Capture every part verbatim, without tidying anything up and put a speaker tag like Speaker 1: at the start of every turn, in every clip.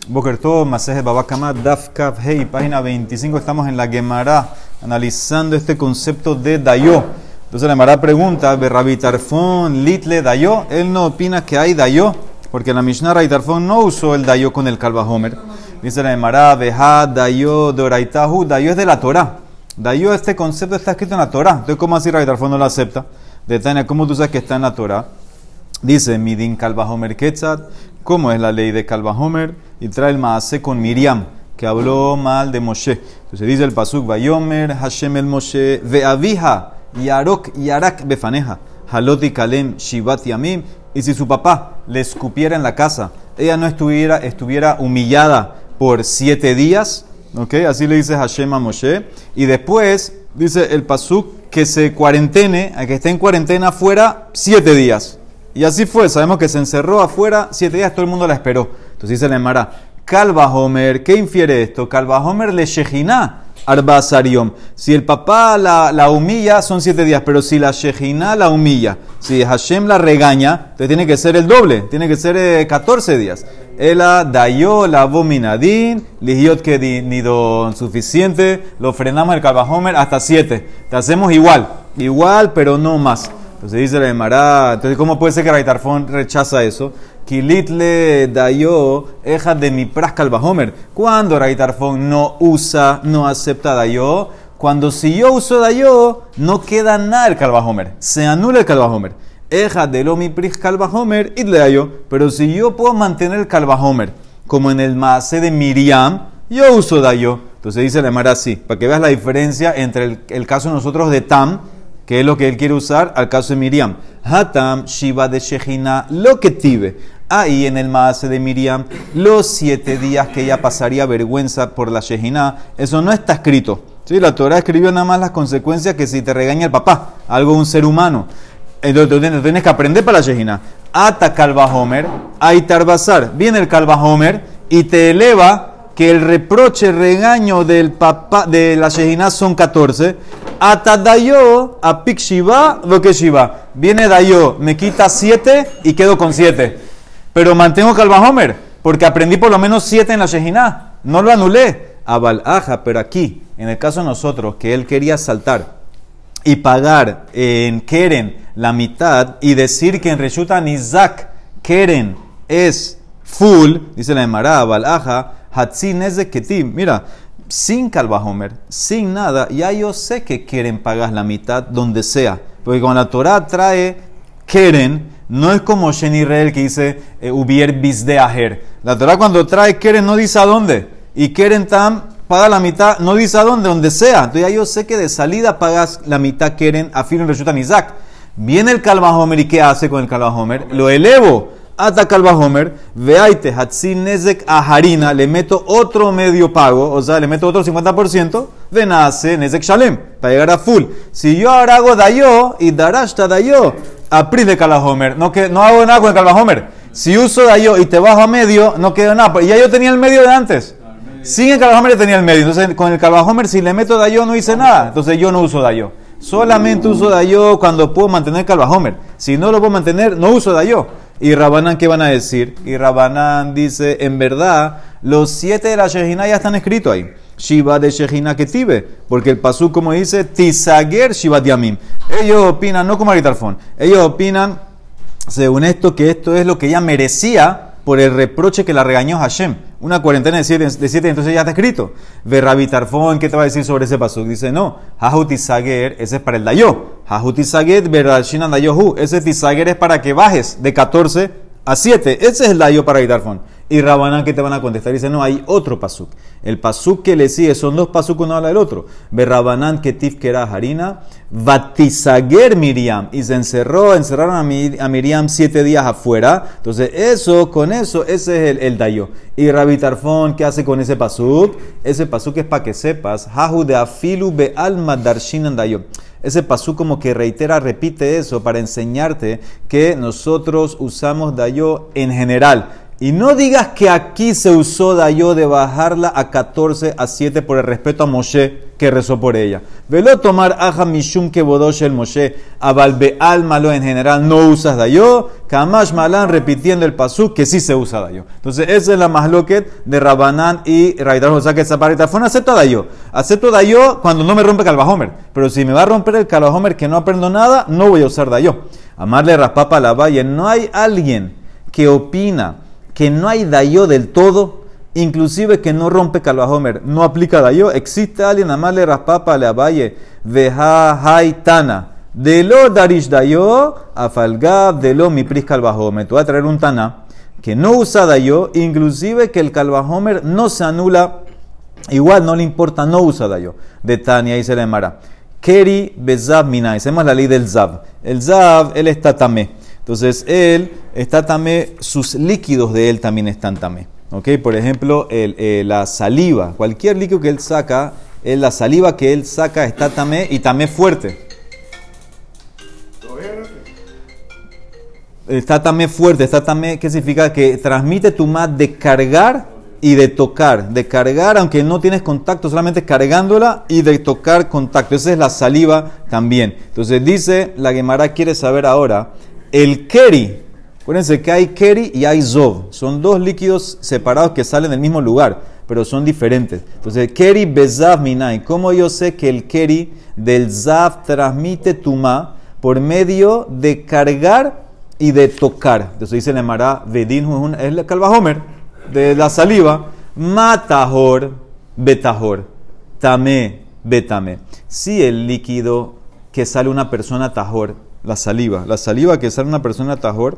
Speaker 1: Boker Tov, Masejet Baba Kama, Daf Kaf Hei, página veinticinco. Estamos en la Gemara analizando este concepto de Dayo. Entonces la Gemara pregunta, Rabbi Tarfon Litle Dayo. Él no opina que hay Dayo, porque la Mishnah Rabbi Tarfon no usó el Dayo con el Kalva Homer. Dice la Gemara, Beha Dayo Doraitahu. Dayo es de la Torah. Dayo, este concepto está escrito en la Torah. Entonces, ¿cómo así Rabbi Tarfon no lo acepta? De Tania, ¿cómo tú sabes que está en la Torah? Dice, Midin Kalva Homer Ketzat. ¿Cómo es la ley de Kalva Homer? Y trae el Maaseh con Miriam, que habló mal de Moshe. Entonces dice el pasuk, Vayomer Hashem el Moshe, Ve'avija, Yarok, Yarak Befaneja, Haloti Kalem, Shivat Yamim. Y si su papá le escupiera en la casa, ella no estuviera, estuviera humillada por siete días, ¿ok? Así le dice Hashem a Moshe. Y después dice el pasuk que se cuarentene, a que esté en cuarentena afuera siete días. Y así fue, sabemos que se encerró afuera siete días, todo el mundo la esperó. Entonces dice la Gemara, Kalva Homer, ¿qué infiere esto? Kalva Homer le Shejiná Arba Sariom. Si el papá la, la humilla, son siete días, pero si la Shejiná la humilla, si Hashem la regaña, entonces tiene que ser el doble, tiene que ser eh, catorce días. Ela Dayo la Vominadin, Ligiot que Nidon, suficiente, lo frenamos el Kalva Homer hasta siete. Te hacemos igual, igual, pero no más. Entonces dice la Gemara, entonces ¿cómo puede ser que Rabbi Tarfon rechaza eso? Kilitle Dayo, eja de mi pras Kalva Homer. Cuando Rabbi Tarfon no usa, no acepta Dayo, cuando si yo uso Dayo, no queda nada el Kalva Homer, se anula el Kalva Homer. Eja de lo mi pris Kalva Homer, itle Dayo. Pero si yo puedo mantener el Kalva Homer, como en el Maaseh de Miriam, yo uso Dayo. Entonces dice la Gemara así, para que veas la diferencia entre el, el caso de nosotros de Tam, que es lo que él quiere usar, al caso de Miriam. Hatam, Shiva de Shejina, lo que tive. Ahí en el Maaseh de Miriam, los siete días que ella pasaría vergüenza por la Shejina, eso no está escrito. ¿Sí? La Torah escribió nada más las consecuencias que si te regaña el papá, algo de un ser humano. Entonces tú tienes que aprender para la Shejina. Ata Kalva Homer, Aitar Basar. Viene el Kalva Homer y te eleva que el reproche, el regaño del papá de la Shejina son catorce. Ata Dayo, a Pik Shiva, lo que Shiva. Viene Dayo, me quita siete y quedo con siete. Pero mantengo Kalva Homer, porque aprendí por lo menos siete en la Shejina. No lo anulé. Abal Aja, pero aquí, en el caso de nosotros, que él quería saltar y pagar en Keren la mitad y decir que en Reshuta Nizak Keren es full, dice la Gemara, Abal Aja, Hatzi Nezek Ketim. Mira, sin Kalva Homer, sin nada, ya yo sé que quieren pagar la mitad donde sea. Porque cuando la Torah trae Keren, no es como Shen Israel que dice eh, Ubier Bisde Aher. La Torah cuando trae Keren no dice a dónde. Y Keren Tam paga la mitad, no dice a dónde, donde sea. Entonces ya yo sé que de salida pagas la mitad Keren a Filo en Reshuta Nizak. Viene el Kalva Homer y ¿qué hace con el Kalva Homer? Lo elevo. Ata Kalva Homer, veaite Hatzin Nezek a Harina, le meto otro medio pago, o sea, le meto otro cincuenta por ciento, de nace Nezek Shalem, para llegar a full. Si yo ahora hago Dayo y Darashta Dayo, apri de Kalva Homer, no, que, no hago nada con el Kalva Homer. Si uso Dayo y te bajo a medio, no queda nada, y ya yo tenía el medio de antes. Sin el Kalva Homer tenía el medio, entonces con el Kalva Homer si le meto Dayo no hice nada, entonces yo no uso Dayo. Solamente uso Dayo cuando puedo mantener Kalva Homer. Si no lo puedo mantener, no uso Dayo. Y Rabanán, ¿qué van a decir? Y Rabanán dice, en verdad, los siete de la Shejina ya están escritos ahí. Shiva de Shejina Ketive. Porque el pasuk, como dice, Tisager Shivat Yamim. Ellos opinan, no como Rabbi Tarfon, ellos opinan, según esto, que esto es lo que ella merecía por el reproche que la regañó Hashem. Una cuarentena de siete, de siete entonces ya está escrito. Ve Rabbi Tarfon, ¿qué te va a decir sobre ese pasuk? Dice, no, Hahu Tisager, ese es para el Dayo. Hahu Tisager, Berashinan Dayohu. Ese Tisager es para que bajes de catorce a siete. Ese es el Dayo para Rabbi Tarfon. Y Rabanán, ¿qué te van a contestar? Dice, no, hay otro pasuk. El pasuk que le sigue, son dos pasuk, uno habla del otro. Ve Rabanán, Ketif Kera Harina, Vatisager Miriam. Y se encerró, encerraron a, Mir, a Miriam siete días afuera. Entonces, eso, con eso, ese es el, el Dayo. Y Rabbi Tarfon, ¿qué hace con ese pasuk? Ese pasuk es para que sepas, Hahu de Afilu Be Alma Darshinan Dayo. Ese pasuk como que reitera, repite eso para enseñarte que nosotros usamos Dayo en general. Y no digas que aquí se usó Dayo de bajarla a catorce a siete por el respeto a Moshe, que rezó por ella. Velo tomar aja mishum que bodosh el Moshe, abalbe almalo en general no usas dayo, kamash malan repitiendo el pasuk que sí se usa dayo. Entonces esa es la mahloket de Rabanán y Rabitar, o sea que esa parita fue acepto dayo. Acepto dayo cuando no me rompe calvajomer, pero si me va a romper el calvajomer que no aprendo nada, no voy a usar dayo. Amarle raspapa la valle, no hay alguien que opina que no hay dayo del todo, inclusive que no rompe calvajomer, no aplica dayo. Existe alguien, amarle raspapa la valle, veja haitana, de lo darish dayo, afalgab de lo mi pris calvajomer. Te voy a traer un tana que no usa dayo, inclusive que el calvajomer no se anula, igual no le importa, no usa dayo. De Tania y se le mara. Keri bezav minai, hacemos la ley del zav. El zav, él está tamé. Entonces, él está tamé, sus líquidos de él también están tamé. ¿Ok? Por ejemplo, el, el, la saliva, cualquier líquido que él saca, el, la saliva que él saca está tamé y tamé fuerte. Está tamé fuerte, está tamé, ¿qué significa? Que transmite tumá de cargar y de tocar. De cargar, aunque no tienes contacto, solamente cargándola y de tocar contacto. Esa es la saliva también. Entonces, dice, la Gemara quiere saber ahora, el keri, acuérdense que hay keri y hay zov, son dos líquidos separados que salen del mismo lugar, pero son diferentes. Entonces, keri bezav minai, ¿cómo yo sé que el keri del zav transmite tumá por medio de cargar y de tocar? Entonces dice el Mará, vedin es el calvajomer de la saliva, matahor betahor, tamé betame. Si el líquido que sale una persona tahor, la saliva, la saliva que sale una persona tajor,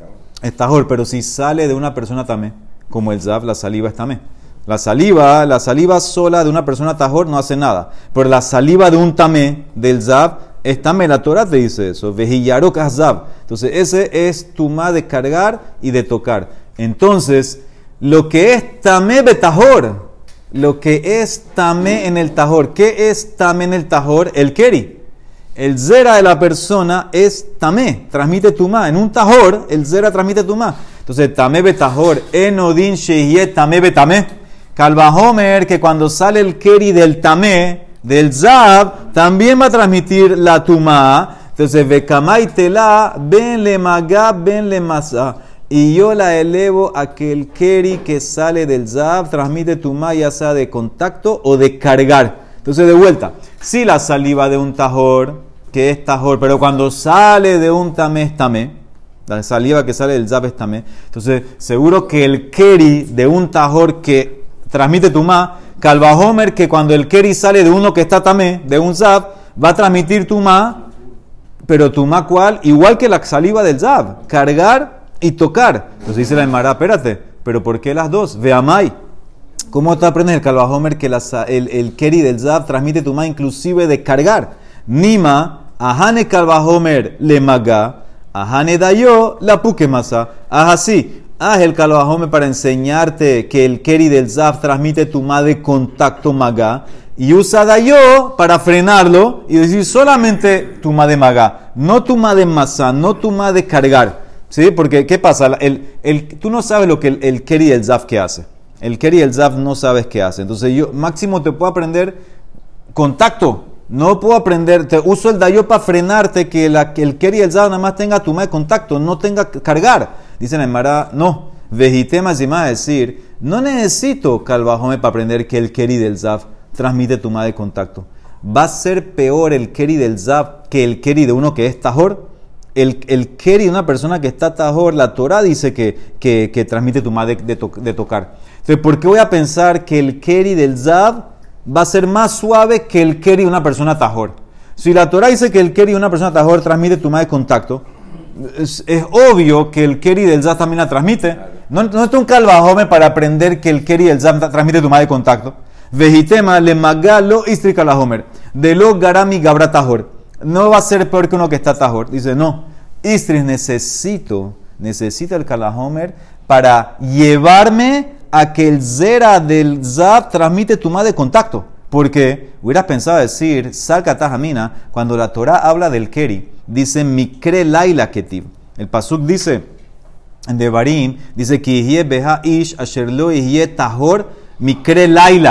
Speaker 1: es tajor, pero si sale de una persona tamé, como el zav, la saliva es tamé. La saliva, la saliva sola de una persona tajor no hace nada, pero la saliva de un tamé, del zav, es tamé. La Torah te dice eso, vejillarok zav. Entonces ese es tumá de cargar y de tocar. Entonces, lo que es tamé betajor, lo que es tamé en el tajor, ¿qué es tamé en el tajor? El keri. El zera de la persona es tamé, transmite tumá. En un tajor, el zera transmite tumá. Entonces, tamé betajor, enodin sheyeh tamé betamé. Calvajomer, que cuando sale el keri del tamé, del zab, también va a transmitir la tumá. Entonces, vekamay tela, ben le magab, ben le masa. Y yo la elevo a que el keri que sale del zab transmite tumá, ya sea de contacto o de cargar. Entonces, de vuelta, si la saliva de un tajor, que es tajor, pero cuando sale de un tamé es tamé, la saliva que sale del zab es tamé, entonces seguro que el keri de un tajor que transmite tumá, calvajomer, que cuando el keri sale de uno que está tamé, de un zab, va a transmitir tumá, pero tumá cuál, igual que la saliva del zab, cargar y tocar. Entonces dice la Emara, espérate, pero ¿por qué las dos? Veamai. ¿Cómo te aprendes el calvajomer que la, el, el keri del zab transmite tumá inclusive de cargar? Nima, ahane calvajomer le maga, ahane dayo la pukemasa. Haz así, haz el calvajomer para enseñarte que el keri del zab transmite tumá de contacto maga y usa dayo para frenarlo y decir solamente tumá de maga, no tumá de masa, no tumá de cargar. ¿Sí? Porque, ¿qué pasa? El, el, tú no sabes lo que el, el keri del zab que hace. El keri y el zav no sabes qué hace. Entonces yo máximo te puedo aprender contacto. No puedo aprender, te uso el dayo para frenarte que, la, que el keri y el zav nada más tenga tumá de contacto, no tenga cargar. Dicen en Mará, no. Vejitema y más decir, no necesito calvajome para aprender que el keri del zav transmite tumá de contacto. Va a ser peor el keri del zav que el keri de uno que es tajor. El, el keri de una persona que está tajor, la Torah dice que, que, que transmite tumá de, de, to, de tocar. Entonces, ¿por qué voy a pensar que el keri del zav va a ser más suave que el keri de una persona tajor? Si la Torah dice que el keri de una persona tajor transmite tumá de contacto, es, es obvio que el keri del zav también la transmite. No, no es un calvajome para aprender que el keri del zav transmite tumá de contacto. Vejitema le magalo istri calahomer. De lo garami gabra tajor. No va a ser peor que uno que está tajor. Dice, no, istris necesito, necesito el calahomer para llevarme a que el zera del zav transmite tumá de contacto. Porque hubieras pensado decir, salca tajamina, cuando la Torah habla del keri, dice, mikre laila ketiv. El pasuk dice, en Devarim, dice, ki ihye beha ish asher lo ihye tahor mikre laila.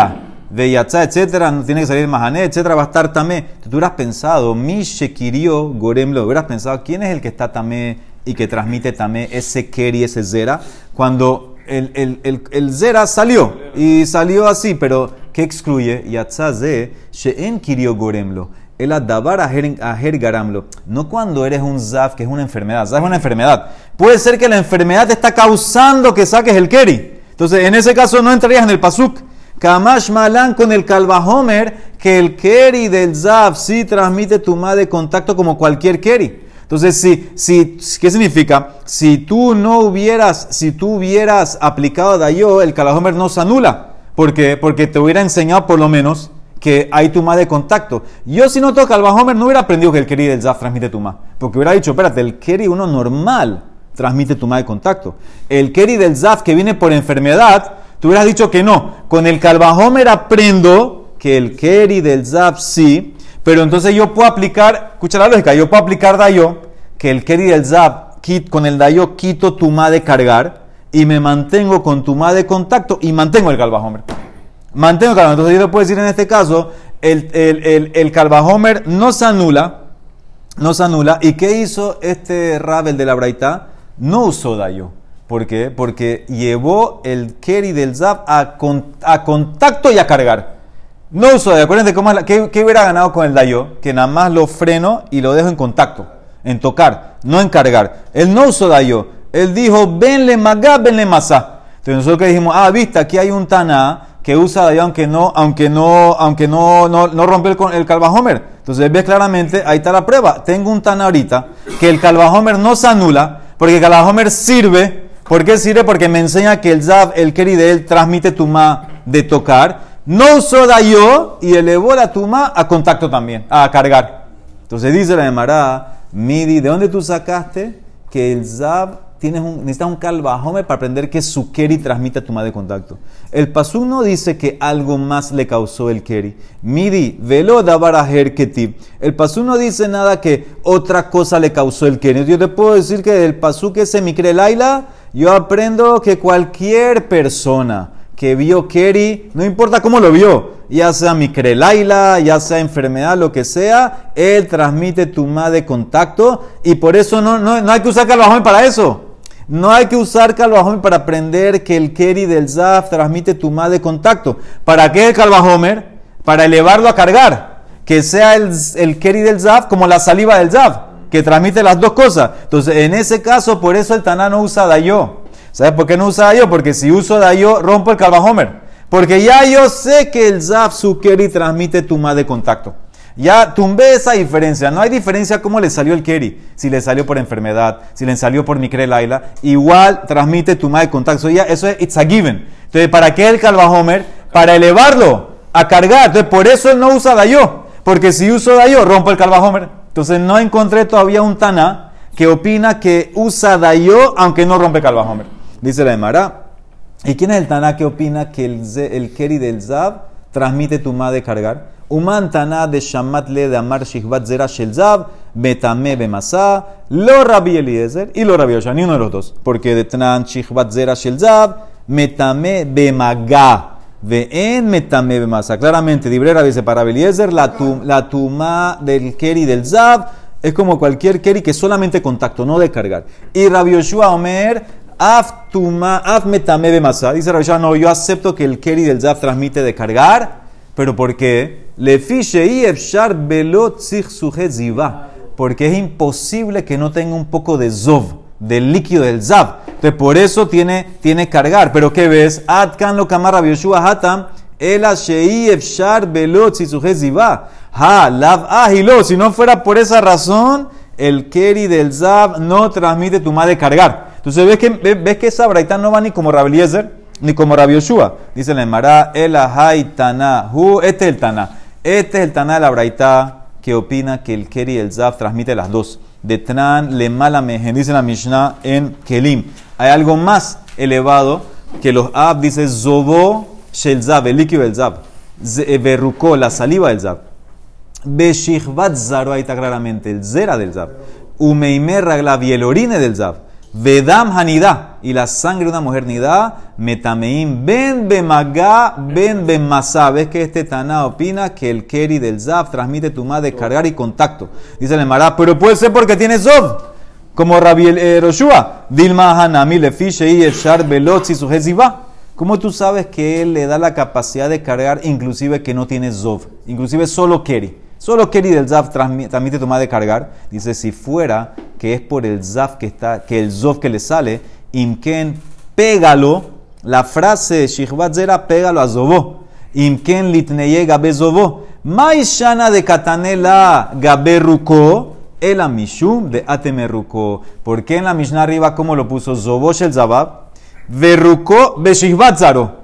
Speaker 1: veyatza, etcétera, no tiene que salir mahané, etcétera, va a estar tamé. Tú hubieras pensado, mi shekirió goremlo, hubieras pensado, ¿quién es el que está tamé y que transmite tamé ese keri, ese zera? Cuando el, el, el, el zera salió, y salió así, pero ¿qué excluye? Yatza ze, she'en kirió goremlo. El adabar aher garamlo. No cuando eres un zaf, que es una enfermedad. Zaf es una enfermedad. Puede ser que la enfermedad te está causando que saques el keri. Entonces, en ese caso no entrarías en el pasuk. Kamash malan con el kalvahomer, que el keri del zaf sí transmite tumá de contacto como cualquier keri. Entonces, si, si, ¿qué significa? Si tú no hubieras, si tú hubieras aplicado dayo, el kalvahomer no se anula. ¿Por qué? Porque te hubiera enseñado por lo menos que hay tumá de contacto. Yo si no toca el Bahomer no hubiera aprendido que el keri del zaf transmite tumá. Porque hubiera dicho, espérate, el keri uno normal transmite tumá de contacto. El keri del zaf que viene por enfermedad, tú hubieras dicho que no. Con el Kalvahomer aprendo que el keri del zaf sí, pero entonces yo puedo aplicar, escucha la lógica, yo puedo aplicar dayo, que el keri del zaf, con el dayo quito tumá de cargar y me mantengo con tumá de contacto y mantengo el Kalvahomer. Mantengo el Kalvahomer. Entonces yo le puedo decir en este caso, el, el, el, el Kalvahomer no se anula, no se anula. ¿Y qué hizo este Rabel de la Braitá? No usó dayo. ¿Por qué? Porque llevó el keri del zaf a, con, a contacto y a cargar. No usó dayo. Acuérdense cómo es la, ¿qué, ¿qué hubiera ganado con el dayo? Que nada más lo freno y lo dejo en contacto, en tocar, no en cargar. Él no usó dayo. Él dijo, venle magá, venle masá. Entonces nosotros que dijimos, ah, viste, aquí hay un taná que usa dayo aunque no, aunque no, aunque no, no, no rompe el, el Kalvahomer. Entonces ves claramente, ahí está la prueba. Tengo un taná ahorita que el Kalvahomer no se anula, porque el Kalvahomer sirve. ¿Por qué sirve? Porque me enseña que el zaf, el keri de él, transmite tumá de tocar. No usó dayo y elevó la tumá a contacto también, a cargar. Entonces dice la Gemara, Midi, ¿de dónde tú sacaste que el zaf tienes un, necesitas un Kalvahomer para aprender que su keri transmite tumá de contacto? El pasuk no dice que algo más le causó el keri. Midi, velo dabaraher ketib. El pasuk no dice nada que otra cosa le causó el keri. Yo te puedo decir que del pasuk ese mikre laila, yo aprendo que cualquier persona que vio keri, no importa cómo lo vio, ya sea mikre laila, ya sea enfermedad, lo que sea, él transmite tumá de contacto y por eso no, no, no hay que usar Kalvahomer para eso. No hay que usar Kalvahomer para aprender que el keri del zaf transmite tumá de contacto. ¿Para qué el Kalvahomer? Para elevarlo a cargar. Que sea el, el keri del zaf como la saliva del zaf, que transmite las dos cosas. Entonces, en ese caso, por eso el taná no usa dayo. ¿Sabes por qué no usa dayo? Porque si uso dayo, rompo el Kalvahomer. Porque ya yo sé que el zaf, su keri, transmite tumá de contacto. Ya tumbé esa diferencia. No hay diferencia cómo le salió el keri. Si le salió por enfermedad, si le salió por mikre laila, igual transmite tumá de contacto. Ya, eso es it's a given. Entonces, ¿para qué el Kalvahomer? Para elevarlo, a cargar. Entonces, por eso él no usa dayo. Porque si uso dayo, rompo el Kalvahomer. Entonces, no encontré todavía un taná que opina que usa dayo, aunque no rompe Kalvahomer. Dice la Gemara. ¿Y quién es el taná que opina que el, el keri del zab transmite tumá de cargar? Uman taná de shamat le de amar shihvat zera shel zab, betame bemasa, lo Rabbi Eliezer y lo Rabbi Yoshua, ni uno de los dos. Porque de tnan shihvat zera shel zab, metame bemaga, ve'en metame bemasa. Claramente, dibre Rabbi dice para Rabbi Eliezer, la, tum, la tumá del keri del zab es como cualquier keri que solamente contacto, no de cargar. Y Rabbi Yoshua Omer, af tuma, af metame bemasa. Dice Rabbi Yoshua, no, yo acepto que el keri del zab transmite de cargar, pero ¿por qué? Le fiche y efshar belot zich sujet ziva. Porque es imposible que no tenga un poco de zov, del líquido del zab. Entonces, por eso tiene, tiene cargar. Pero ¿qué ves? Atkan lo kamar Rabbi Yoshua hatam, el shei efshar belot zich sujet ziva. Ha, lav ahilo. Si no fuera por esa razón, el keri del zab no transmite tumá de cargar. Entonces, ¿ves que, ves que esa braitá no va ni como Rabbi Eliezer ni como Rabbi Yoshua? Dice la Gemara, el ahai taná, este es el taná. Este es el taná de la braitá que opina que el keri y el zaf transmite las dos. De tran le mala mejen, dice la Mishnah en Kelim. Hay algo más elevado que los ab, dice zobo shel zab, el líquido del zab. Verrucó, la saliva del zab. Beshichvat zaro, ahí está claramente, el zera del zab. Umeimer raglav, y el orine del zab. Vedam hanidá, y la sangre de una mujer nidá, metameim, ben bemagá, ben bemasá. ¿Ves que este Taná opina que el keri del Zav transmite tumá de cargar y contacto? Dice el Mará, pero puede ser porque tiene Zov, como Rabbi eh, Roshua. Dilma hanami lefiche y el shar belotzi su jezibá. ¿Cómo tú sabes que él le da la capacidad de cargar, inclusive que no tiene Zov? Inclusive solo keri. Solo keri del Zav transmite tumá de cargar. Dice, si fuera que es por el Zav que está, que el Zov que le sale, imken, pégalo. La frase Shihvat Zera, pégalo a Zovó. Imken litneye gabe Zovó. Maishana de katanela gabe ruko, el amishum de atemeruko. ¿Por qué en la Mishnah arriba, cómo lo puso? Zovó shel Zavab, veruko be Shihvat Zaro.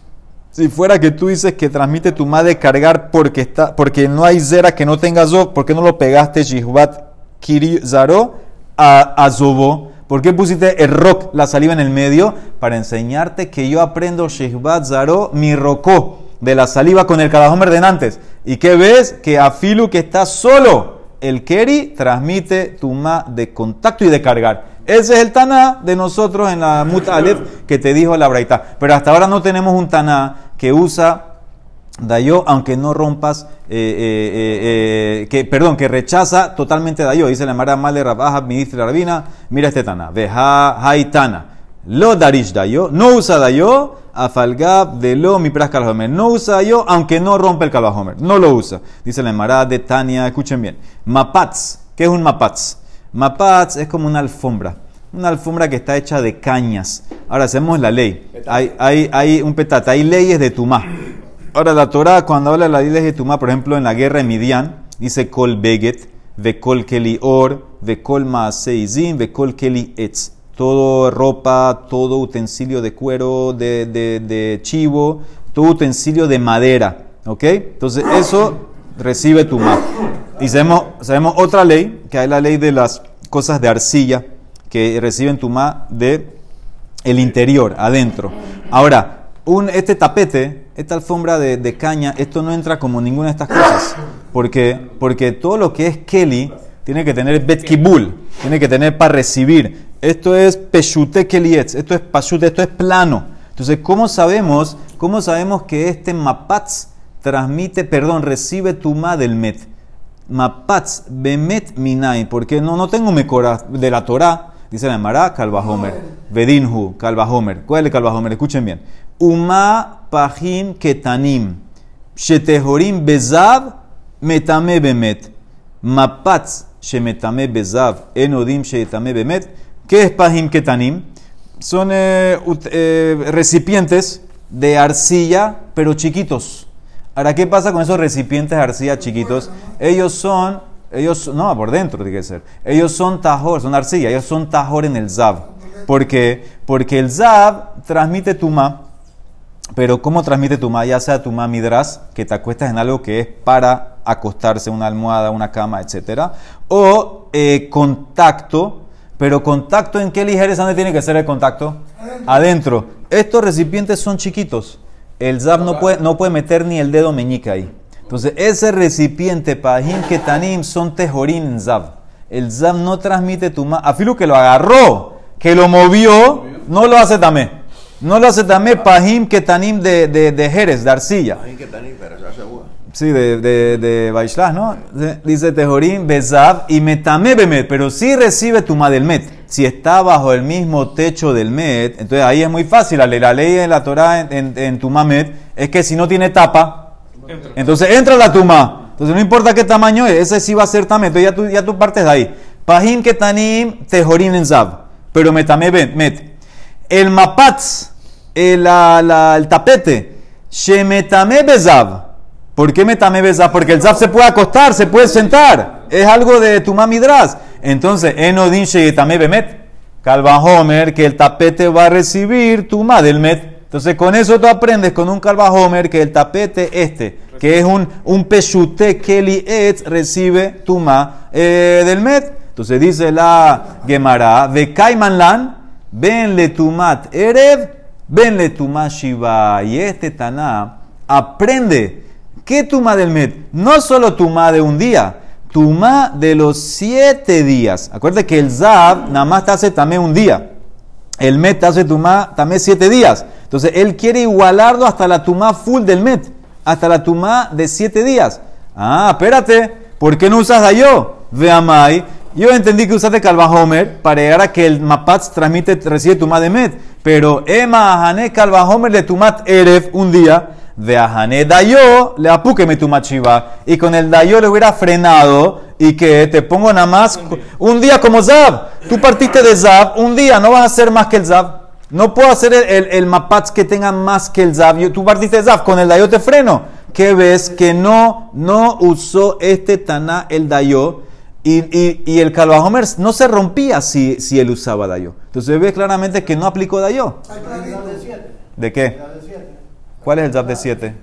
Speaker 1: Si fuera que tú dices que transmite tu madre cargar porque está, porque no hay zera que no tenga zov, ¿por qué no lo pegaste Shihvat Kiri Zaro a, a Zovó? ¿Por qué pusiste el rock, la saliva en el medio? Para enseñarte que yo aprendo Shihvat Zaro, mi rocó, de la saliva con el Kalahomer de antes. ¿Y qué ves? Que afilu que está solo, el Keri transmite tumá de contacto y de cargar. Ese es el Taná de nosotros en la Mut Aleph que te dijo la Braita. Pero hasta ahora no tenemos un Taná que usa Dayo, aunque no rompas, eh, eh, eh, que, perdón, que rechaza totalmente Dayo. Dice la Mara Male Rabaja, ministra Rabina, mira este Taná. Veja Haitana. Lo Darish Dayo, no usa Dayo, Afalgab de lo mi pras Kalvahomer. No usa Dayo, aunque no rompe el Kalvahomer. No lo usa. Dice la Mara de Tania, escuchen bien. Mapatz, ¿qué es un mapatz? Mapatz es como una alfombra, una alfombra que está hecha de cañas. Ahora hacemos la ley. Hay, hay, hay un petate, hay leyes de Tumá. Ahora la Torah cuando habla de las leyes de Tumá, por ejemplo en la guerra de Midian, dice Kol Beget, Vekol Keli Or, Vekol Maaseizim, Vekol Keli Etz. Todo ropa, todo utensilio de cuero, de, de, de chivo, todo utensilio de madera. ¿Ok? Entonces eso recibe Tumá. Y sabemos, sabemos otra ley, que hay la ley de las cosas de arcilla, que reciben tumá de el interior, adentro. Ahora, un, este tapete, esta alfombra de, de caña, esto no entra como ninguna de estas cosas. ¿Por qué? Porque todo lo que es keli tiene que tener bet kibul, tiene que tener para recibir. Esto es peshute kelietz, esto es pashute, esto es plano. Entonces, ¿cómo sabemos, cómo sabemos que este mapatz transmite, perdón, recibe tumá del met? Mapatz bemet minai, porque no, no tengo mecora de la Torah, dice la Emara, Kalvahomer, Vedinhu, Kalvahomer. ¿Cuál es el Kalvahomer? Escuchen bien. Uma pahim ketanim, shetehorim bezav, metame bemet. Mapatz shemetame bezav, enodim shemetame bemet. ¿Qué es pahim ketanim? Son eh, eh, recipientes de arcilla, pero chiquitos. Ahora, ¿qué pasa con esos recipientes de arcilla chiquitos? Ellos son, ellos, no, por dentro tiene que ser. Ellos son tajor, son arcilla, ellos son tajor en el zav. ¿Por qué? Porque el zav transmite tumá, pero ¿cómo transmite tumá? Ya sea tumá midras, que te acuestas en algo que es para acostarse, una almohada, una cama, etcétera, o eh, contacto, pero contacto ¿en qué ligeres? ¿Dónde tiene que ser el contacto? Adentro. Adentro. Estos recipientes son chiquitos. El Zav no puede, no puede meter ni el dedo meñique ahí. Entonces, ese recipiente, Pahim Ketanim, son tejorín en Zav. El Zav no transmite tumá. Afilo que lo agarró, que lo movió, no lo hace tamé. No lo hace tamé Pahim Ketanim de, de, de Jerez, de arcilla. Pahim Ketanim, pero se hace agua. Sí, de, de, de Baishlah, ¿no? Dice tejorín, Bezav y Metame Bemet, pero sí recibe tumá del Met. Si está bajo el mismo techo del Met, entonces ahí es muy fácil. La ley, la ley de la Torah en, en, en Tumá Met es que si no tiene tapa, entra. Entonces entra la Tumá. Entonces no importa qué tamaño es, ese sí va a ser Tamé. Entonces ya tú, ya tú partes de ahí. Pahim Ketanim Tejorim en Zav, pero Metame Met. El Mapatz, el, la, la, el tapete, Shemetame Bezav. ¿Por qué Metame Bezav? Porque el Zav se puede acostar, se puede sentar. Es algo de Tumá Midras. Entonces, Enodin Sheyetame Bemet, Kalvahomer, que el tapete va a recibir Tumá del Met. Entonces, con eso tú aprendes con un Kalvahomer que el tapete este, que es un, un Peshute Keli Etz, recibe Tumá eh, del Met. Entonces, dice la Gemara, Vekaiman Lan, Benle Tumat Erev, Benle Tumá Shiva. Y este Taná aprende, ¿qué Tumá del Met? No solo Tumá de un día, tumá de los siete días. Acuérdate que el Zav nada más te hace también un día. El Met te hace tumá también siete días. Entonces él quiere igualarlo hasta la tumá full del Met, hasta la tumá de siete días. Ah, espérate, ¿por qué no usas Dayo? Veamai, yo entendí que usaste Calvajomer para llegar a que el Mapatz transmite, recibe tumá de Met, pero Ema Ahané Calvajomer de tumat Erev un día, de Ahané Dayo le apúqueme tumat Shiva, y con el Dayo le hubiera frenado y que te pongo nada más un día como Zav. Tú partiste de Zav un día, no vas a hacer más que el Zav. No puedo hacer el, el, el Mapatz que tenga más que el Zav. Tú partiste de Zav, con el Dayo te freno. ¿Qué ves? Que no, no usó este Taná el Dayo y, y, y el Calvajomer no se rompía si, si él usaba Dayo. Entonces ves claramente que no aplicó Dayo. ¿De qué? ¿Cuál es el Zav de siete?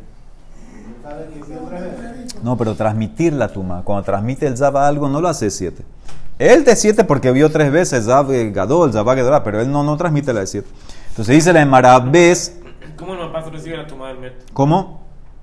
Speaker 1: No, pero transmitir la tuma. Cuando transmite el Zav a algo no lo hace siete. Él de siete porque vio tres veces Zav Gadol, Zav Gadol, pero él no, no transmite la de siete. Entonces dice la Emara, ¿ves?
Speaker 2: ¿Cómo el Mapatz recibe la tuma del Met?
Speaker 1: ¿Cómo?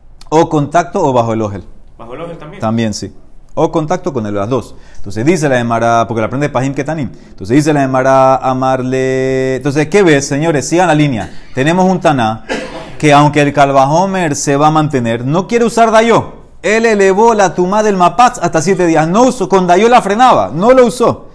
Speaker 1: O contacto o bajo el ojel.
Speaker 2: ¿Bajo el ojel también?
Speaker 1: También, sí. O contacto con el, las dos. Entonces dice la Emara, porque la aprende Pahim Ketanim. Entonces dice la Emara, amarle. Entonces, ¿qué ves, señores? Sigan la línea. Tenemos un Taná que, aunque el Calvajomer se va a mantener, no quiere usar Dayo. Él elevó la tumá del Mapatz hasta siete días. No usó, con Dayo la frenaba. No lo usó.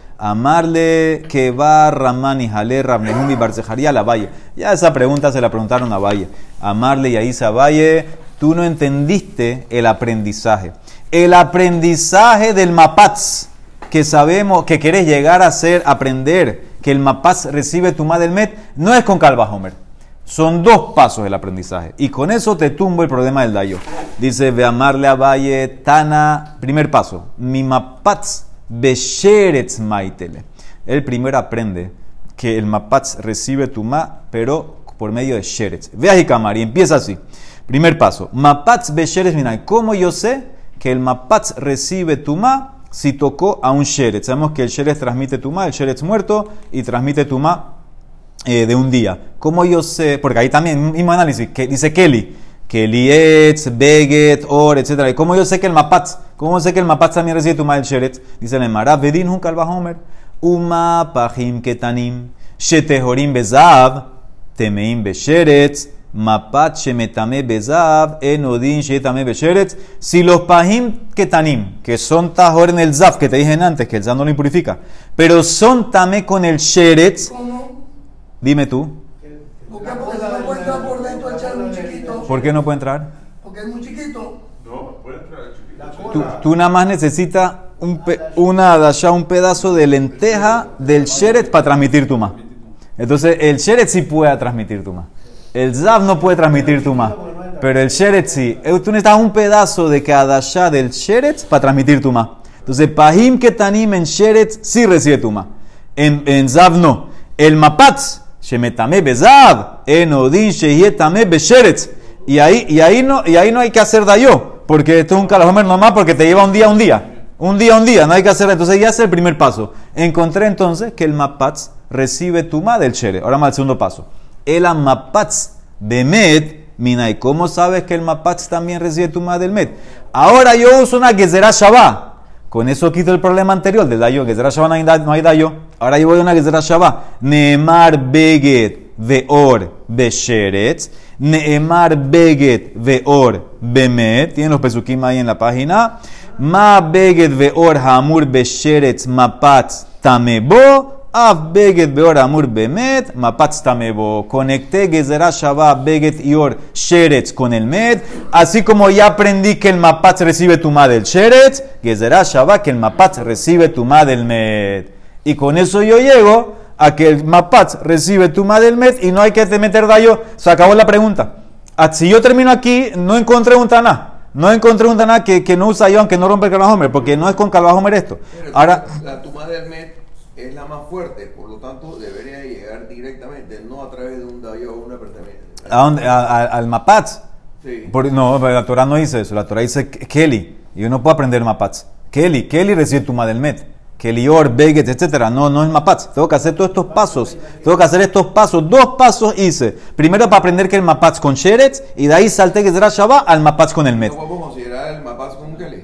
Speaker 1: Amarle que va Ramán y Jalé, Rabnehum y Barcejaría la Valle. Ya esa pregunta se la preguntaron a Valle. Amarle y Aisa Valle, tú no entendiste el aprendizaje. El aprendizaje del Mapatz, que sabemos que querés llegar a hacer, aprender, que el Mapatz recibe tumá del Met, no es con Calvajomer. Son dos pasos del aprendizaje. Y con eso te tumbo el problema del Dayo. Dice, ve amarle a Valle, Tana, primer paso. Mi Mapatz besheretz maitele. El primero aprende que el Mapatz recibe tumá, pero por medio de sheretz. Ve a Hikamar y empieza así. Primer paso. Mapatz besheretz minay. ¿Cómo yo sé que el Mapatz recibe tumá si tocó a un sheretz? Sabemos que el sheretz transmite tumá, el sheretz muerto, y transmite tumá Eh, de un día. ¿Cómo yo sé? Porque ahí también, mismo análisis, que dice Kelly, Kelly etz, Beget, Or, etcétera. ¿Y cómo yo sé que el Mapatz? ¿Cómo sé que el Mapatz también recibe tumá del sheretz? Dice el Emara, Vedin hun Calvajomer, Uma pahim ketanim, Shetehorim bezav, Temeim besheretz, Mapatz shemetame bezav, Enodin shetame besheretz. Si los pahim ketanim, que son tajor en el zav, que te dije antes, que el zav no lo impurifica, pero son tamé con el sheretz. Dime tú.
Speaker 3: ¿Por qué? Porque no puede entrar por dentro el chero muy chiquito.
Speaker 1: ¿Por qué no puede entrar?
Speaker 3: Porque es muy chiquito.
Speaker 4: No, puede entrar el chiquito.
Speaker 1: Tú, tú nada más necesitas un pe, una dasha, un pedazo de lenteja del sheretz para transmitir tuma. Entonces el sheretz sí puede transmitir tuma. El zav no puede transmitir tuma. Pero el sheretz sí. Tú necesitas un pedazo de cada dasha del sheretz para transmitir tuma. Entonces pahim ketanim en sheretz sí recibe tuma. En, en zav no. El Mapatz shemetame bezav, enodin sheyetame besheretz. Y ahí, y ahí no, y ahí no hay que hacer dayo, porque esto es un Calvajomer nomás, porque te lleva un día a un día, un día a un día, no hay que hacer. Entonces ya es el primer paso. Encontré entonces que el Mapatz recibe tumá del sheretz. Ahora más el segundo paso. El Mapatz bemet minay. ¿Cómo sabes que el Mapatz también recibe tumá del met? Ahora yo uso una gezerá shabá. Con eso quito el problema anterior del dayo. Gezerá shabá no hay, no hay dayo. Ahora yo voy a una gezerá shabá. Neemar beget veor besheretz. Neemar beget veor bemet. Tienen los pesukim ahí en la página. Ma beget veor hamur besheretz mapatz tamebo. Av beget veor hamur bemet mapatz tamebo. Conecté gezerá shabá beget ior sheretz con el met. Así como ya aprendí que el mapatz recibe tumá del sheretz, gezerá shabá que el mapatz recibe tumá del met. Y con eso yo llego a que el Mapatz recibe tumá del met y no hay que meter dayo. Se acabó la pregunta. Si yo termino aquí, no encontré un taná. No encontré un taná que, que no usa yo, aunque no rompe el Calvajomer, porque no es con Calvajomer esto.
Speaker 5: Pero
Speaker 1: ahora,
Speaker 5: la tumá del met es la más fuerte, por lo tanto debería llegar directamente, no a través de un dayo o una pertenencia.
Speaker 1: ¿A dónde? ¿A, a, ¿Al Mapatz?
Speaker 5: Sí.
Speaker 1: Por, no, la Torah no dice eso. La Torah dice Kelly. Y yo no puedo aprender Mapatz. Kelly, Kelly recibe tumá del met. Kelior, Beget, etcétera. No, no es Mapatz. Tengo que hacer todos estos pasos. Tengo que hacer estos pasos. Dos pasos hice. Primero para aprender que el Mapatz con sheretz y de ahí salté que será Shabbat al Mapatz con el met.
Speaker 5: ¿No podemos considerar el Mapatz con un Kelly?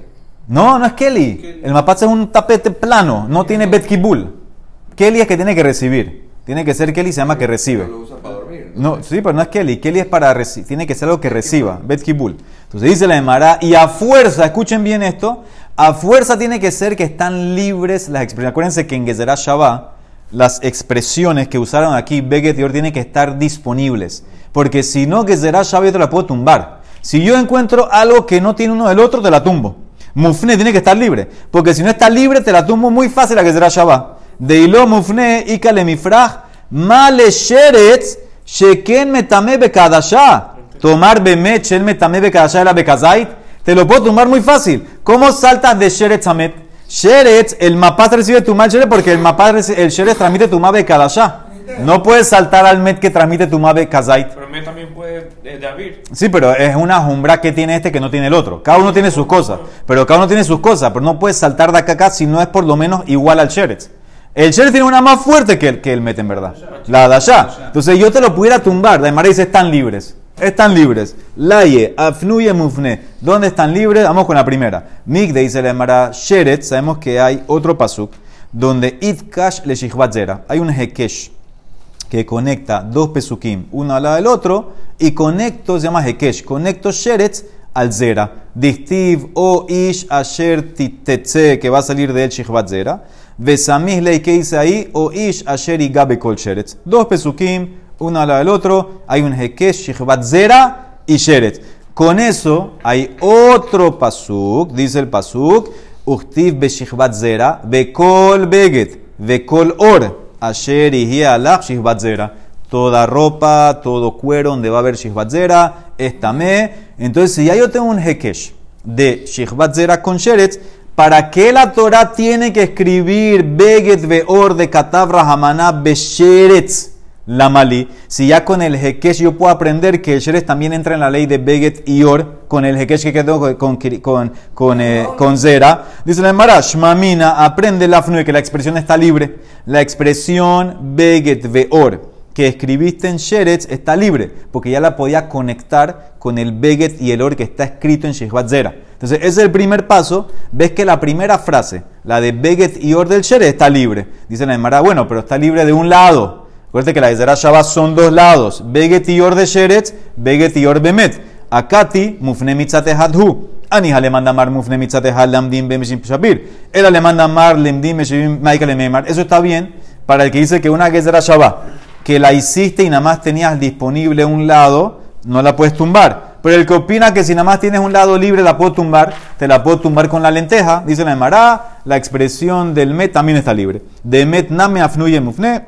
Speaker 1: No, no es Keli. El mapatz es un tapete plano, no tiene bet kibul. Keli es que tiene que recibir. Tiene que ser Keli, se llama que recibe.
Speaker 5: Lo usa para dormir.
Speaker 1: No, sí, pero no es Keli. Keli es para recibir. Tiene que ser algo que reciba. Bet kibul. Entonces dice la Gemara, y a fuerza, escuchen bien esto, a fuerza tiene que ser que están libres las expresiones. Acuérdense que en Gezerah Shabbat, las expresiones que usaron aquí, Beget y Or, tienen que estar disponibles. Porque si no, Gezerah Shabbat yo te la puedo tumbar. Si yo encuentro algo que no tiene uno del otro, te la tumbo. Mufne tiene que estar libre. Porque si no está libre, te la tumbo muy fácil a Gezerah Shabbat. Deilo mufne ikale mifraj male sheretz sheken metame bekadashá. Tomar bemet shel metame bekadashá la bekazait. Te lo puedo tumbar muy fácil. ¿Cómo saltas de sheretz a met? Sheretz, el mapaz recibe tu mal sheretz porque el mapaz, el sheretz transmite tu ma bekadashá. No puedes saltar al met que transmite tu ma bekazait.
Speaker 2: Pero el met también puede eh, de abrir.
Speaker 1: Sí, pero es una jumbra que tiene este que no tiene el otro. Cada uno tiene sus cosas. Pero cada uno tiene sus cosas. Pero no puedes saltar de acá a acá si no es por lo menos igual al sheretz. El sheretz tiene una más fuerte que el, que el met en verdad. La dashá. Entonces yo te lo pudiera tumbar. La Gemara dice están libres. Están libres. Laye, afnuye, mufne. ¿Dónde están libres? Vamos con la primera. Migde dice la Gemara sheretz. Sabemos que hay otro pasuk donde itkash le shihvat zera. Hay un hekesh que conecta dos pesukim, uno al lado del otro, y conecto, se llama hekesh, conecto sheretz al zera. Distiv o ish asher titetze, que va a salir de él shihvat zera. Vesamih lei, que dice ahí, o ish asher igabe kol sheretz. Dos pesukim, uno al lado del otro, hay un hekesh, shihvat zera y sheretz. Con eso hay otro pasuk, dice el pasuk, uchtiv be shihvat zera, be kol beget, be kol or. Asher y alach shihvat zera. Toda ropa, todo cuero donde va a haber shihvat zera, estamé. Entonces, si ya yo tengo un hekesh de shihvat zera con sheretz, ¿para qué la Torah tiene que escribir beget veor de katav rahamana besheretz la malí? Si ya con el hekesh yo puedo aprender que el sheretz también entra en la ley de beget y or, con el hekesh que quedó con, con, con, con, eh, con zera. Dice la Gemara, shmamina, aprende la fnue, que la expresión está libre. La expresión beget veor que escribiste en sheretz está libre, porque ya la podía conectar con el beget y el or que está escrito en shihvat zera. Entonces, ese es el primer paso. Ves que la primera frase, la de beget y or del sheretz, está libre. Dice la Gemara, bueno, pero está libre de un lado. Acuérdate que la Gezerah Shabbat son dos lados. Beget y or de sheretz, beget y or bemet. Akati, mufne mitzate hadhu. Anija le manda mar mufne mitzate had lamdim bemeshim shapir. Él le manda mar lemdim bemeshim maikale meimar. Eso está bien para el que dice que una Gezerah Shabbat, que la hiciste y nada más tenías disponible un lado, no la puedes tumbar. Pero el que opina que si nada más tienes un lado libre la puedo tumbar, te la puedo tumbar con la lenteja. Dice la Gemara, la expresión del met también está libre. De met name afnuye mufne.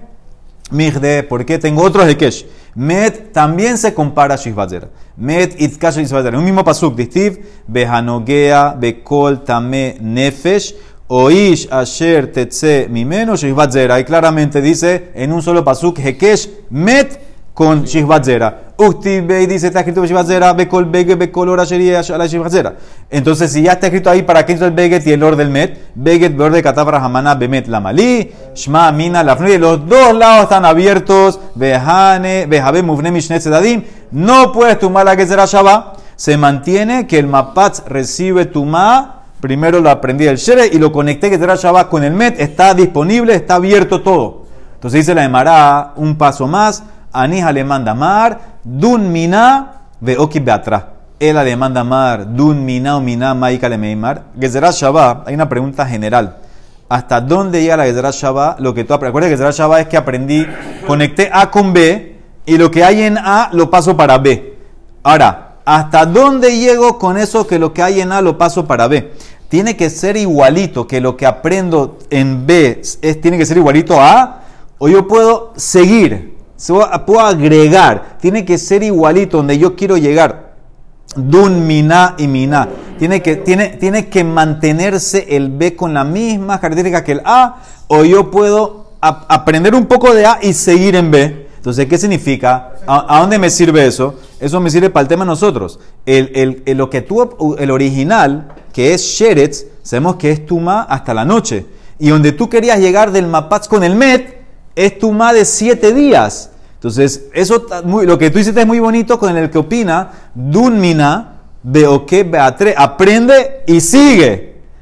Speaker 1: Migde, ¿por qué? Tengo otro hekesh. Met también se compara a shihvat zera. Met itkash shihvat zera. Un mismo pasuk. Distiv, behanogea, bekol tame nefesh, oish asher tetze mimeno shihvat zera. Y claramente dice en un solo pasuk, hekesh, met con shihvat zera. Uktiv bei dice, está escrito shihvat zera, bekol bege, bekol or asher ala shihvat zera. Entonces, si ya está escrito ahí, ¿para qué es el beget y el or del met? Beget, beor de katav rahamana, bemet la malí, shma, mina, la fnuye. Los dos lados están abiertos. Behane, behabe, mufne, mishne, sedadim. No puedes tumar la Gezerah Shabbat. Se mantiene que el mapatz recibe tumá. Primero lo aprendí del sheretz y lo conecté Gezerah Shabbat con el met. Está disponible, está abierto todo. Entonces dice la Gemara un paso más. Anija le manda mar, dun mina, veoki beatra. Él le manda mar, dun mina o mina, maika le meimar. Gezerah Shabbat, hay una pregunta general. ¿Hasta dónde llega la Gezerah Shabbat? Lo que tú aprendes. Recuerda que Gezerah Shabbat es que aprendí, conecté A con B y lo que hay en A lo paso para B. Ahora, ¿hasta dónde llego con eso que lo que hay en A lo paso para B? Tiene que ser igualito, que lo que aprendo en B es, tiene que ser igualito a A, o yo puedo seguir, puedo agregar, tiene que ser igualito donde yo quiero llegar. Dun, mina y mina. Tiene que, tiene, tiene que mantenerse el B con la misma característica que el A, o yo puedo a, aprender un poco de A y seguir en B. Entonces, ¿qué significa? ¿A, a dónde me sirve eso? Eso me sirve para el tema de nosotros. El, el, el, lo que tú, el original, que es sheretz, sabemos que es tumá hasta la noche. Y donde tú querías llegar del mapatz con el met, es tumá de siete días. Entonces, eso, muy, lo que tú hiciste es muy bonito con el que opina, dun mina, beoke beatre, aprende y sigue.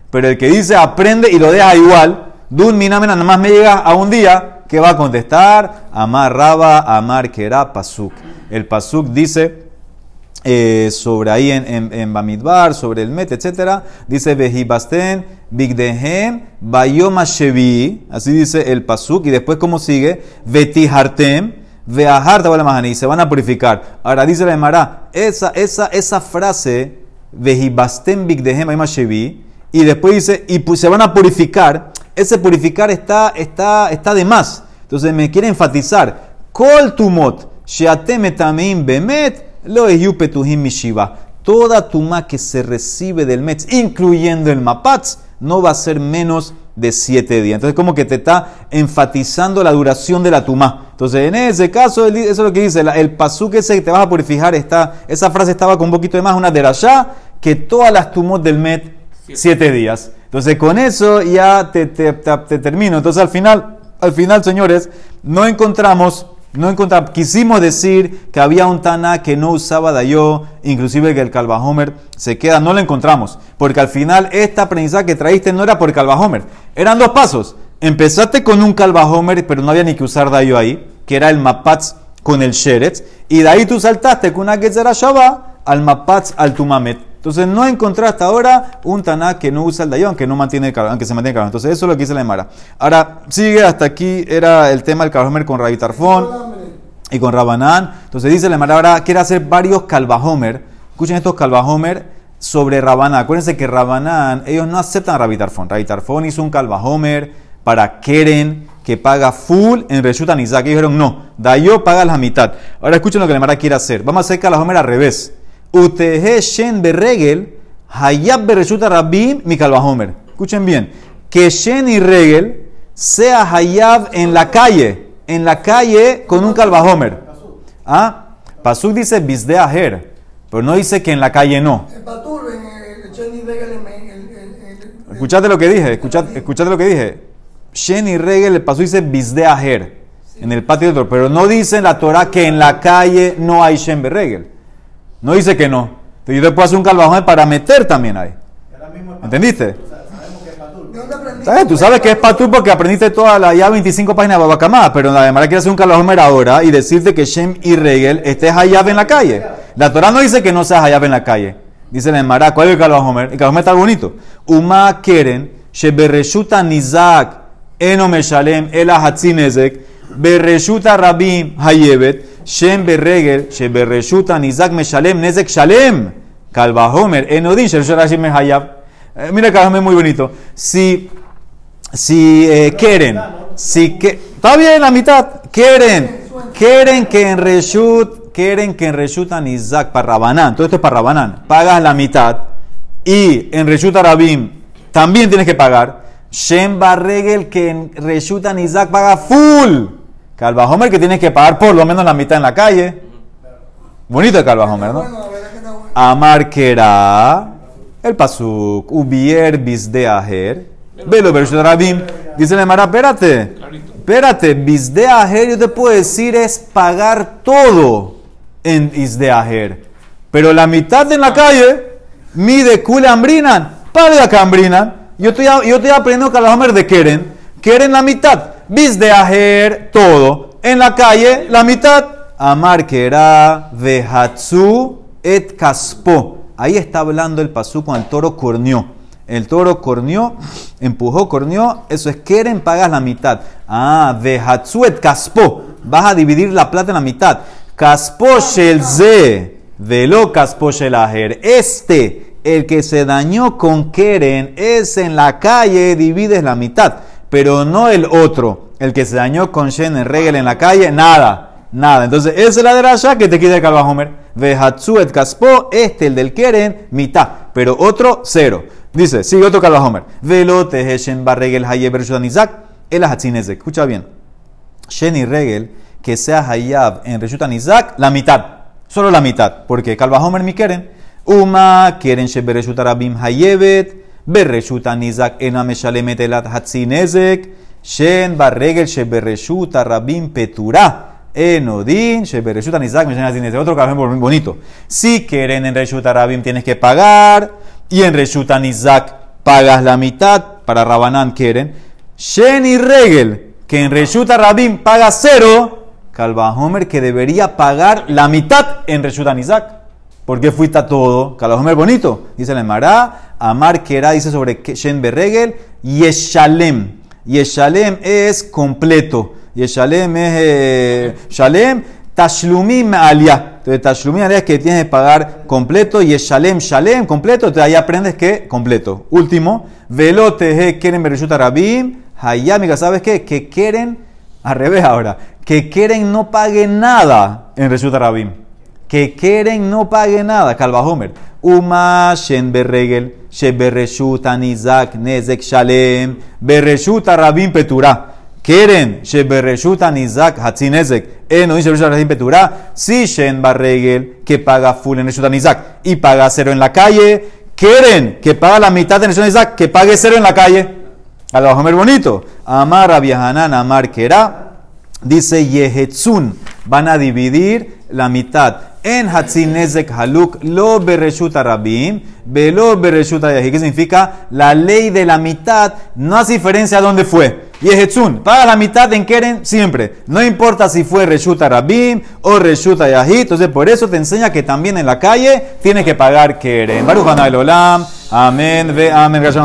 Speaker 1: Pero el que dice aprende y lo deja igual, Dun Minamena, nada más me llega a un día, ¿qué va a contestar? Amar Raba, Amar Kera Pasuk. El Pasuk dice eh, sobre ahí en, en, en Bamidbar, sobre el Met, etcétera, dice Vejibasten, Bigdehem, Bayoma Shevi, así dice el Pasuk, y después, ¿cómo sigue? Vetihartem, Veahar Tabalamahani, se van a purificar. Ahora dice la Emara, esa, esa, esa frase, Vejibasten, Bigdehem, Bayoma Shevi, y después dice, y pues se van a purificar. Ese purificar está, está, está de más. Entonces me quiere enfatizar. Kol tumot, sheatem etameim bemet, lo ehiu petuhim mishiva. Toda tumá que se recibe del Metz, incluyendo el mapatz, no va a ser menos de siete días. Entonces como que te está enfatizando la duración de la tumá. Entonces en ese caso, eso es lo que dice, el pasuk ese que te vas a purificar, está, esa frase estaba con un poquito de más, una derashá, que todas las tumot del Met, siete días. Entonces con eso ya te, te, te, te termino. Entonces al final, al final, señores, no encontramos, no encontramos, quisimos decir que había un Taná que no usaba Dayó, inclusive que el Kalvahomer se queda, no lo encontramos, porque al final esta aprendizaje que traíste no era por Kalvahomer, eran dos pasos. Empezaste con un Kalvahomer, pero no había ni que usar Dayó ahí, que era el Mapatz con el Sheretz, y de ahí tú saltaste con una Getzera Shabbat al Mapatz al Tumamet. Entonces no encontré hasta ahora un Taná que no usa el Dayón, que no mantiene el calor, aunque se mantiene el calor. Entonces eso es lo que dice la Emara. Ahora sigue hasta aquí, era el tema del Kalvahomer con Rabbi Tarfón y con Rabanán. Entonces dice la Emara, ahora quiere hacer varios Kalvahomer. Escuchen estos Kalvahomer sobre Rabanán. Acuérdense que Rabanán, ellos no aceptan a Rabbi Tarfón. Rabbi Tarfón hizo un Kalvahomer para Keren, que paga full en Reshut Anizak. Ellos dijeron no, Dayó paga la mitad. Ahora escuchen lo que la Emara quiere hacer. Vamos a hacer Kalvahomer al revés. Utehe Shen Berregel, Hayab Bereshuta Rabim, mi Kalvahomer. Escuchen bien. Que Shen y Regel sea Hayab en la calle. En la calle con un Kalvahomer. ¿Ah? Pasuk dice Bisde Aher, pero no dice que en la calle no.
Speaker 3: El Patur, en el Shen y Regel, en
Speaker 1: Escuchate lo que dije. Escuchate, escuchate lo que dije. Shen y Regel, el Pasuk dice Bisde Aher, en el patio del Torah. Pero no dice en la Torah que en la calle no hay Shen Berregel. No dice que no. Entonces yo te puedo hacer un Kalvahomer para meter también ahí. ¿Entendiste? ¿Sabes? Tú sabes que es Patur porque aprendiste toda la ya veinticinco páginas de Babacamá, pero la Gemara quiere hacer un Kalvahomer ahora y decirte que Shem y Regel estés Hayab en la calle. La Torah no dice que no seas Hayab en la calle. Dice la Gemara, ¿cuál es el Kalvahomer? El Kalvahomer está bonito. Uma Keren, Shebereshuta Nizak, Eno Meshalem, Ela Hatzinezek, Bereshuta Rabim Hayebet, Shem Berregel, Shebereshuta Nizak Meshalem, Nezek Shalem, Kalvahomer, Enodin, Shershorashim Hayab. Eh, mira, Kalvahomer muy bonito. Si, si eh, quieren, si que, está bien la mitad, quieren, quieren que en Reshut, quieren que en Reshut Nizak, para Rabanán, todo esto es para Rabanán, pagas la mitad, y en Reshut Rabim también tienes que pagar. Shem Berregel, que en Reshut Nizak paga full. Kalvahomer que tienes que pagar por lo menos la mitad en la calle. Bonito el Kalvahomer, ¿no? Amar Kera, el Pasuk, Ubier Bisde Aher, Velo Bereshut Rabim. Dice la Emara, espérate, espérate, Bisde Aher, yo te puedo decir es pagar todo en Bisde Aher. Pero la mitad en la calle, mide Kule Ambrinan, paga acá Ambrinan. Yo estoy, yo estoy aprendiendo Kalvahomer de Keren, Keren la mitad. Bisde Aher, todo. En la calle, la mitad. Amar Kera, Vehatzu, et Kaspo. Ahí está hablando el pasú con el toro corneó. El toro corneó, empujó, corneó. Eso es Keren, pagas la mitad. Ah, Vehatzu et Kaspo. Vas a dividir la plata en la mitad. Kaspo shel ze, velo Kaspo shel Aher. Este, el que se dañó con Keren, es en la calle, divides la mitad. Pero no el otro, el que se dañó con Shen en Regel en la calle, nada, nada. Entonces, esa es la de Rasha que te quita el Kalvahomer. Vehatzu et Kaspo, este, el del Keren, mitad, pero otro, cero. Dice, sigue otro Kalvahomer. Velote Shen Barregel Hayeb Reshut Nizak, el Hatzinezek. Escucha bien. Shen y Regel, que sea Hayab en Reshut Nizak, la mitad, solo la mitad, porque Kalvahomer mi Keren. Uma, Keren Shebereshut Rabim Hayebet. Bereshuta Nizak ena meshalemet elat hatzinezek, Shen Barregel shebereshuta Rabim Petura, Enodin shebereshuta Nizak meshalet hatzinezek. Otro Kalvahomer bonito. Si quieren en Reshuta Rabim tienes que pagar, y en Reshuta Nizak pagas la mitad para Rabanán Keren. Shen y Regel, que en Reshuta Rabim paga cero, Calvajomer que debería pagar la mitad en Reshuta Nizak. ¿Por qué fuiste a todo? Calvajomer bonito. Dice la Emara, Amar Kera dice sobre Shen Berregel, Yeshalem. Yeshalem es completo. Yeshalem es eh, Shalem, Tashlumim Alia. Entonces, Tashlumim Alia es que tienes que pagar completo. Yeshalem, Shalem, completo. Entonces ahí aprendes que completo. Último, Velote Keren Bereshuta Rabim. Hayamiga, ¿sabes qué? Que quieren, al revés ahora, que quieren no pague nada en Reshuta Rabim. Que quieren no pague nada. Calvajomer. Uma Shen Berregel, She Bereshuta Nizak, Nezek Shalem, Bereshuta Rabim Petura. Quieren, She Bereshuta Nizak, Hatzi Nezek. Eh, no dice Bereshuta Rabim Petura. Si Shen Berregel, que paga full en Reshuta Nizak y paga cero en la calle. Quieren, que paga la mitad en Reshuta Nizak, que pague cero en la calle. Calvajomer bonito. Amar Rabbi Hanan, Amar Kera. Dice Yehetzun, van a dividir la mitad en Hatzin Nezek Haluk, lo Bereshuta Rabim, velo Bereshuta Yahid. ¿Qué significa? La ley de la mitad no hace diferencia a dónde fue. Yehetzun, paga la mitad en Keren siempre. No importa si fue Reshuta Rabim o Reshuta Yahid. Entonces, por eso te enseña que también en la calle tienes que pagar Keren. Baruch Hanay Olam. Amén. Ve, amén.